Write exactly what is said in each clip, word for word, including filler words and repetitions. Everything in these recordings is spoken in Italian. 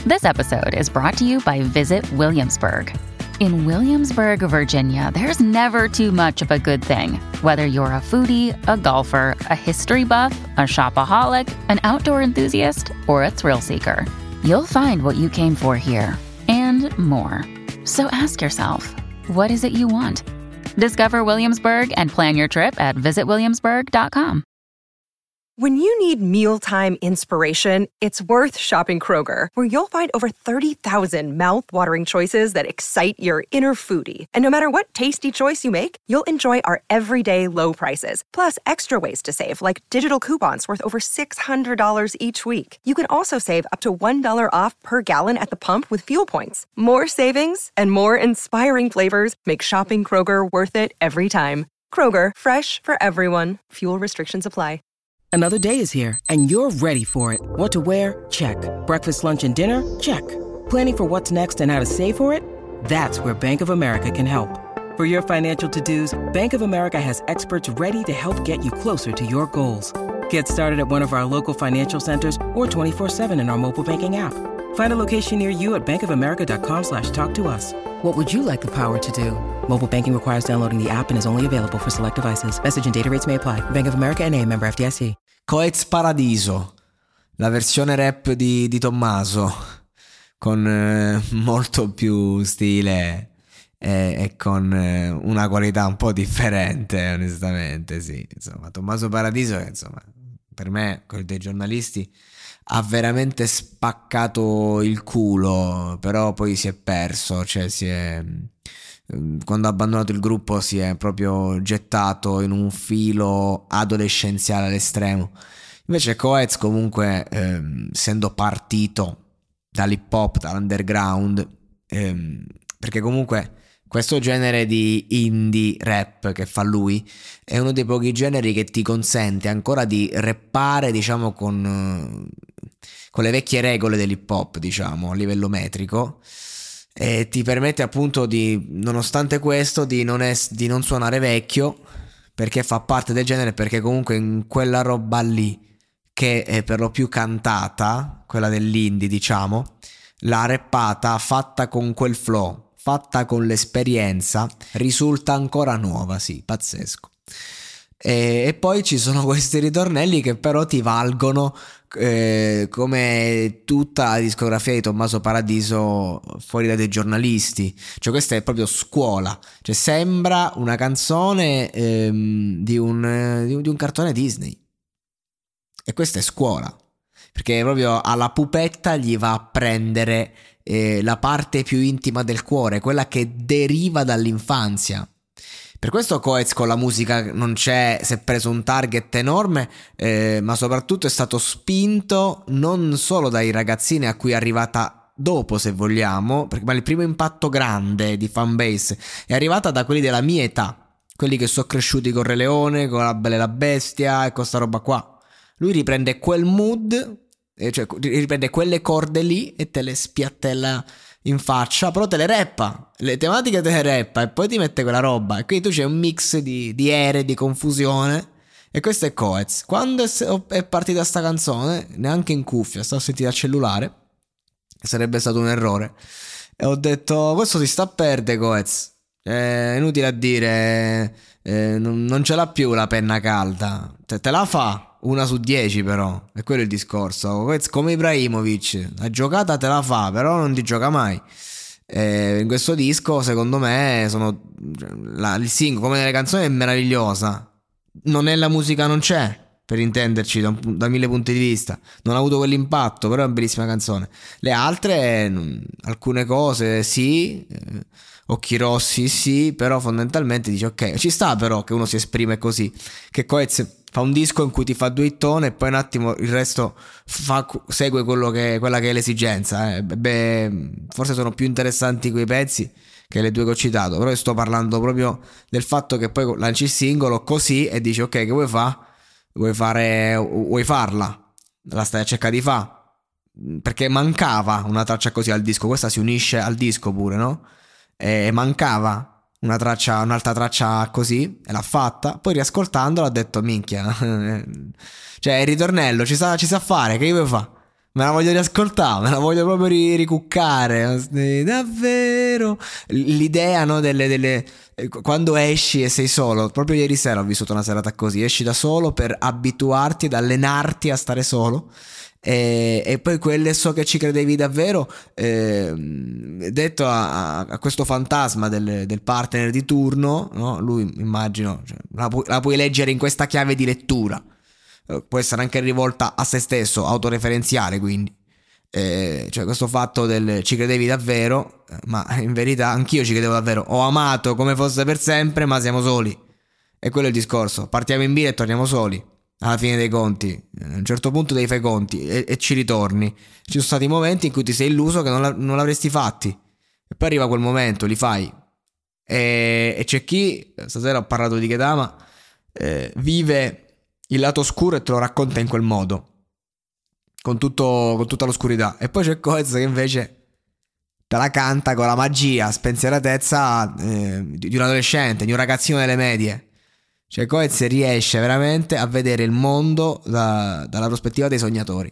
This episode is brought to you by Visit Williamsburg. In Williamsburg, Virginia, there's never too much of a good thing. Whether you're a foodie, a golfer, a history buff, a shopaholic, an outdoor enthusiast, or a thrill seeker, you'll find what you came for here and more. So ask yourself, what is it you want? Discover Williamsburg and plan your trip at visit williamsburg dot com. When you need mealtime inspiration, it's worth shopping Kroger, where you'll find over thirty thousand mouth-watering choices that excite your inner foodie. And no matter what tasty choice you make, you'll enjoy our everyday low prices, plus extra ways to save, like digital coupons worth over six hundred dollars each week. You can also save up to one dollar off per gallon at the pump with fuel points. More savings and more inspiring flavors make shopping Kroger worth it every time. Kroger, fresh for everyone. Fuel restrictions apply. Another day is here, and you're ready for it. What to wear? Check. Breakfast, lunch, and dinner? Check. Planning for what's next and how to save for it? That's where Bank of America can help. For your financial to-dos, Bank of America has experts ready to help get you closer to your goals. Get started at one of our local financial centers or twenty-four seven in our mobile banking app. Find a location near you at bankofamerica.com slash talk to us. What would you like the power to do? Mobile banking requires downloading the app and is only available for select devices. Message and data rates may apply. Bank of America N A, member F D I C. Coez Paradiso, la versione rap di, di Tommaso, con eh, molto più stile e, e con eh, una qualità un po' differente, onestamente, sì. Insomma, Tommaso Paradiso, insomma, per me, quello dei giornalisti, ha veramente spaccato il culo, però poi si è perso, cioè si è... quando ha abbandonato il gruppo si è proprio gettato in un filo adolescenziale all'estremo. Invece Coez comunque, ehm, essendo partito dall'hip hop, dall'underground, ehm, perché comunque questo genere di indie rap che fa lui è uno dei pochi generi che ti consente ancora di rappare, diciamo, con, con le vecchie regole dell'hip hop, diciamo, a livello metrico. E ti permette appunto di, nonostante questo, di non, es- di non suonare vecchio, perché fa parte del genere, perché comunque in quella roba lì che è per lo più cantata, quella dell'indie, diciamo, la rappata fatta con quel flow, fatta con l'esperienza, risulta ancora nuova, sì, pazzesco. E, e poi ci sono questi ritornelli che però ti valgono eh, come tutta la discografia di Tommaso Paradiso fuori dai giornalisti. Cioè questa è proprio scuola, cioè sembra una canzone ehm, di, un, di, un, di un cartone Disney, e questa è scuola, perché proprio alla pupetta gli va a prendere eh, la parte più intima del cuore, quella che deriva dall'infanzia. Per questo Coez con la musica non c'è, si è preso un target enorme, eh, ma soprattutto è stato spinto non solo dai ragazzini a cui è arrivata dopo, se vogliamo, perché ma il primo impatto grande di fanbase è arrivata da quelli della mia età, quelli che sono cresciuti con Re Leone, con La Bella e la Bestia e con sta roba qua. Lui riprende quel mood, eh, cioè riprende quelle corde lì e te le spiattella in faccia, però te le rappa, le tematiche te le rappa e poi ti mette quella roba, e quindi tu c'è un mix di, di ere, di confusione, e questo è Coez. Quando è, è partita sta canzone, neanche in cuffia, stavo sentendo al cellulare, sarebbe stato un errore, e ho detto questo si sta a perdere Coez, è inutile a dire, eh, non, non ce l'ha più la penna calda, te, te la fa una su dieci, però è quello il discorso. Coez come Ibrahimovic, la giocata te la fa, però non ti gioca mai. E in questo disco secondo me sono la, il singolo, come nelle canzoni, è meravigliosa. Non è la musica, non c'è, per intenderci, da, un, da mille punti di vista, non ha avuto quell'impatto, però è una bellissima canzone. Le altre, alcune cose sì, eh, Occhi Rossi sì, però fondamentalmente dici ok, ci sta però che uno si esprime così, che Coez fa un disco in cui ti fa due hittone e poi un attimo il resto fa, segue quello che, quella che è l'esigenza, eh. Beh, forse sono più interessanti quei pezzi che le due che ho citato, però io sto parlando proprio del fatto che poi lanci il singolo così e dici ok, che vuoi fare? Vuoi fare, vuoi farla? La stai a cercare di fa', perché mancava una traccia così al disco, questa si unisce al disco pure, no? E mancava una traccia, un'altra traccia così, e l'ha fatta. Poi riascoltandola ha detto minchia, cioè il ritornello ci sa, ci sa fare, che io devo fare? Me la voglio riascoltare, me la voglio proprio ri- ricuccare. Davvero. L'idea, no, delle, delle... Quando esci e sei solo. Proprio ieri sera ho vissuto una serata così. Esci da solo per abituarti ed allenarti a stare solo. E, e poi quelle so che ci credevi davvero, eh, detto a, a questo fantasma del, del partner di turno, no? Lui immagino, cioè, la, pu- la puoi leggere in questa chiave di lettura. Può essere anche rivolta a se stesso, autoreferenziale, quindi eh, cioè questo fatto del ci credevi davvero, ma in verità anch'io ci credevo davvero, ho amato come fosse per sempre, ma siamo soli, e quello è il discorso. Partiamo in bila e torniamo soli alla fine dei conti. A un certo punto devi fare i conti e, e ci ritorni. Ci sono stati momenti in cui ti sei illuso che non, la, non l'avresti fatti, e poi arriva quel momento, li fai, e, e c'è chi, stasera ho parlato di Kedama, eh, vive il lato oscuro e te lo racconta in quel modo, con, tutto, con tutta l'oscurità. E poi c'è Coez che invece te la canta con la magia, spensieratezza eh, di un adolescente, di un ragazzino delle medie. Cioè Coez riesce veramente a vedere il mondo da, dalla prospettiva dei sognatori,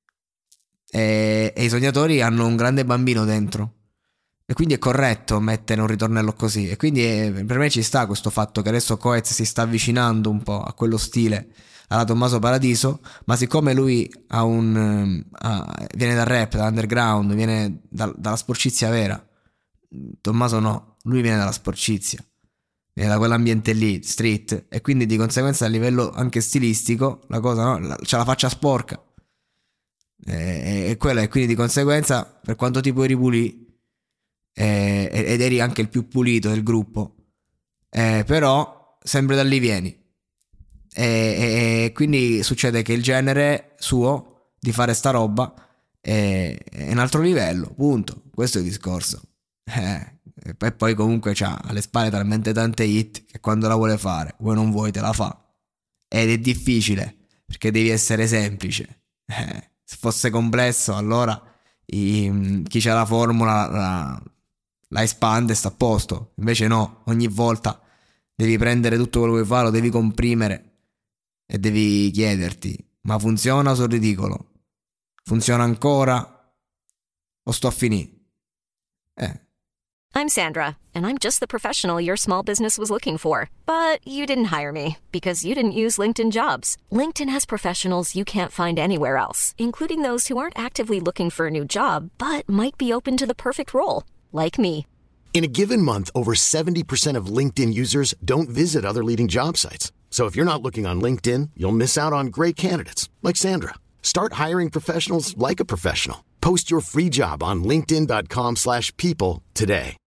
e, e i sognatori hanno un grande bambino dentro, e quindi è corretto mettere un ritornello così. E quindi è, per me ci sta questo fatto che adesso Coez si sta avvicinando un po' a quello stile alla Tommaso Paradiso, ma siccome lui ha un ha, viene dal rap, dall'underground, viene da, dalla sporcizia vera, Tommaso no, lui viene dalla sporcizia, viene da quell'ambiente lì, street, e quindi di conseguenza a livello anche stilistico la cosa, no, c'ha la faccia sporca, e, e quella, e quindi di conseguenza per quanto ti puoi ripulire, Eh, ed eri anche il più pulito del gruppo, eh, però sempre da lì vieni, e, e, e quindi succede che il genere suo di fare sta roba è, è un altro livello, punto. Questo è il discorso, eh, e poi comunque c'ha alle spalle talmente tante hit che quando la vuole fare, vuoi non vuoi, te la fa, ed è difficile perché devi essere semplice, eh, se fosse complesso allora i, chi c'ha la formula la la espande e sta a posto. Invece no, ogni volta devi prendere tutto quello che vuoi fare, lo devi comprimere e devi chiederti: ma funziona o sono ridicolo? Funziona ancora o sto a finire? Eh. I'm Sandra, and I'm just the professional your small business was looking for. But you didn't hire me because you didn't use LinkedIn Jobs. LinkedIn has professionals you can't find anywhere else, including those who aren't actively looking for a new job, but might be open to the perfect role. Like me. In a given month, over seventy percent of LinkedIn users don't visit other leading job sites. So if you're not looking on LinkedIn, you'll miss out on great candidates like Sandra. Start hiring professionals like a professional. Post your free job on linkedin dot com slash people today.